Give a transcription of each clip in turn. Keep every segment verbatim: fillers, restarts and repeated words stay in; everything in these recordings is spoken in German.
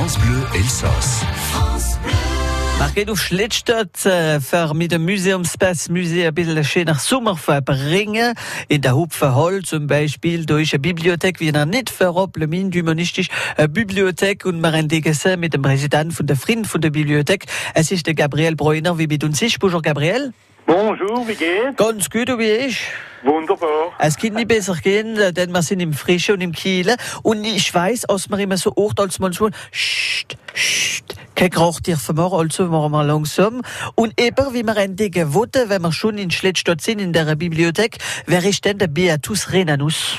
France Bleu Elsass. Market auf Schlittstadt äh, für mit dem Museumspass Museum ein bisschen schöner Sommer verbringen. In der Hupferhall zum Beispiel durch eine Bibliothek, wie eine nicht verroble Min, humanistische Bibliothek, und wir entdecken mit dem Präsidenten von der Frieden von der Bibliothek. Es ist der Gabriel Breuner, wie mit uns ist. Bonjour Gabriel. Bonjour, wie geht's? Ganz gut, und wie ich? Wunderbar. Es kann nicht besser gehen, denn wir sind im Frische und im Kiel. Und ich weiss, als wir immer so oft als manchmal, Scht, Scht, kein Krach dürfen wir, also machen wir langsam. Und eben, wie wir entdecken wollten, wenn wir schon in Schlittstadt sind, in der Bibliothek, wer ist denn der Beatus Rhenanus?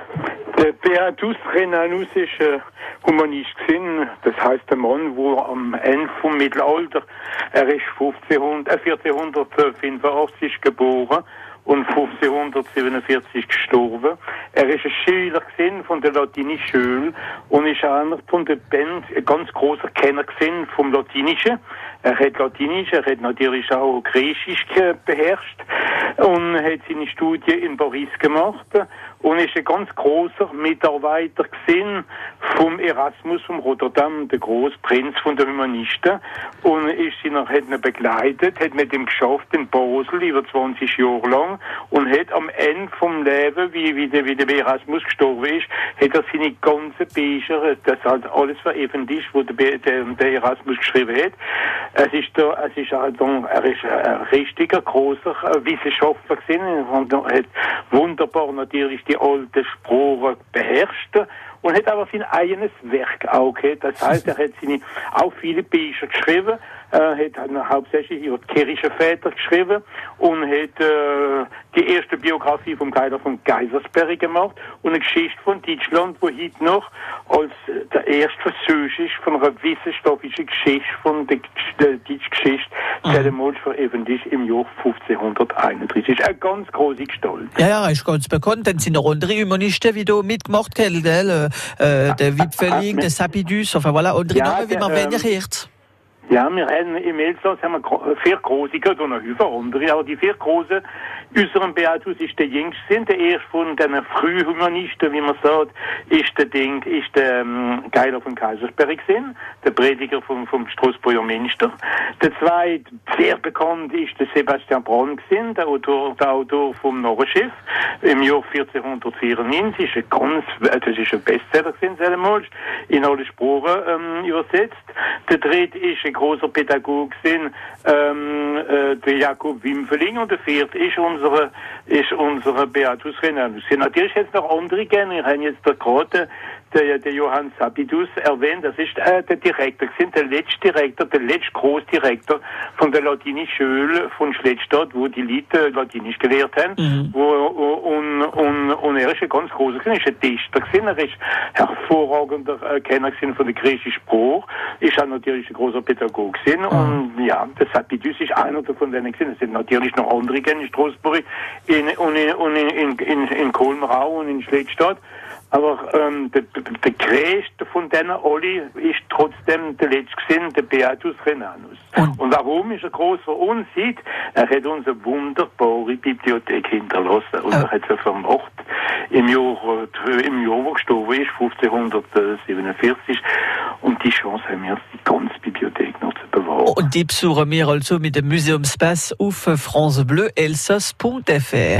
Der Beatus Rhenanus ist äh, Humanist gewesen. Das heisst, der Mann, der am Ende vom Mittelalter, er ist fünfzehnhundert, äh, vierzehnhundertfünfundachtzig geboren und fünfzehnhundertsiebenundvierzig gestorben. Er ist ein Schüler gewesen von der latinischen Schule und ist einer von der Band ein ganz großer Kenner gewesen vom Latinischen. Er hat Latinisch, er hat natürlich auch Griechisch beherrscht und hat seine Studie in Paris gemacht und ist ein ganz großer Mitarbeiter gewesen vom Erasmus von Rotterdam, der Großprinz von der Humanisten, und ist ihn, hat ihn begleitet, hat mit ihm geschafft in Basel über zwanzig Jahre lang und hat am Ende vom Leben, wie, wie, der, wie der Erasmus gestorben ist, hat er seine ganzen Bücher, das hat alles veröffentlicht, was der, der, der Erasmus geschrieben hat. Es ist da, es ist also, er ist ein richtiger großer Wissenschaftler gewesen und hat wunderbar natürlich die alte Sprache beherrscht und hat aber sein eigenes Werk auch gehabt. Das heißt, er hat seine, auch viele Bücher geschrieben, äh, hat hauptsächlich über die Kirchenväter geschrieben und hat äh, die erste Biografie vom Kaiser von Kaisersberg gemacht und eine Geschichte von Deutschland, wo heute noch als der erste Versuch ist von einer wissenschaftlichen Geschichte von der, der deutschen Geschichte, mhm. veröffentlicht im Jahr fünfzehnhunderteinunddreißig. Eine ganz große Gestalt. Ja, ja, ist ganz bekannt. Dann sind noch andere Humanisten, wie du mitgemacht hast, gell? Äh, der Wipfeling, der Sapidus, enfin voilà, andere ja, Namen, wie man ähm, wenig hört. Ja, wir haben im Elsass haben wir vier große, und noch über andere, aber die vier großen, unseren Beatus ist der jüngste, der erste von den Frühhumanisten, wie man sagt, ist der Ding, ist der ähm, Geiler von Kaisersberg gewesen, der Prediger vom, vom Straßburger Münster. Der zweite, sehr bekannt, ist der Sebastian Brahn gewesen, der Autor, der Autor vom Narrenschiff, im Jahr vierzehnhundertvierundneunzig, ist ein ganz, das ist ein Bestseller gewesen, selber in alle Sprachen ähm, übersetzt. Der dritte ist ein großer Pädagoge gewesen, ähm, äh, der Jakob Wimpfeling, und der vierte ist unsere, ist unsere Beatus Rhenanus. Natürlich jetzt noch andere gerne, wir haben jetzt da gerade der, der Johann Sapidus erwähnt, das ist äh, der Direktor gewesen, der letzte Direktor, der letzte Großdirektor von der latinischen Schule von Schlittstadt, wo die Leute Latinisch gelehrt haben, mhm. wo, und, und, und er ist ein ganz großer gewesen, ist ein Dichter gewesen, er ist hervorragender äh, Kenner gewesen von der griechischen Sprache, ist auch natürlich ein großer Pädagoge gewesen, mhm. und ja, der Sapidus ist einer davon denen gewesen, es sind natürlich noch andere in Straßburg, in, und in, und in, in, in Kolmrau und in Schlittstadt. Aber ähm, der, der größte von denen alle ist trotzdem der letzte gewesen, der Beatus Rhenanus. Und, und warum ist er groß für uns? Sieht, er hat uns eine wunderbare Bibliothek hinterlassen und äh. er hat sie vermacht im Jahr, im Jahr, wo gestorben ist, fünfzehnhundertsiebenundvierzig. Und die Chance haben wir, die ganze Bibliothek noch zu bewahren. Und die besuchen wir also mit dem Museumspass auf france bleu elsass punkt f r.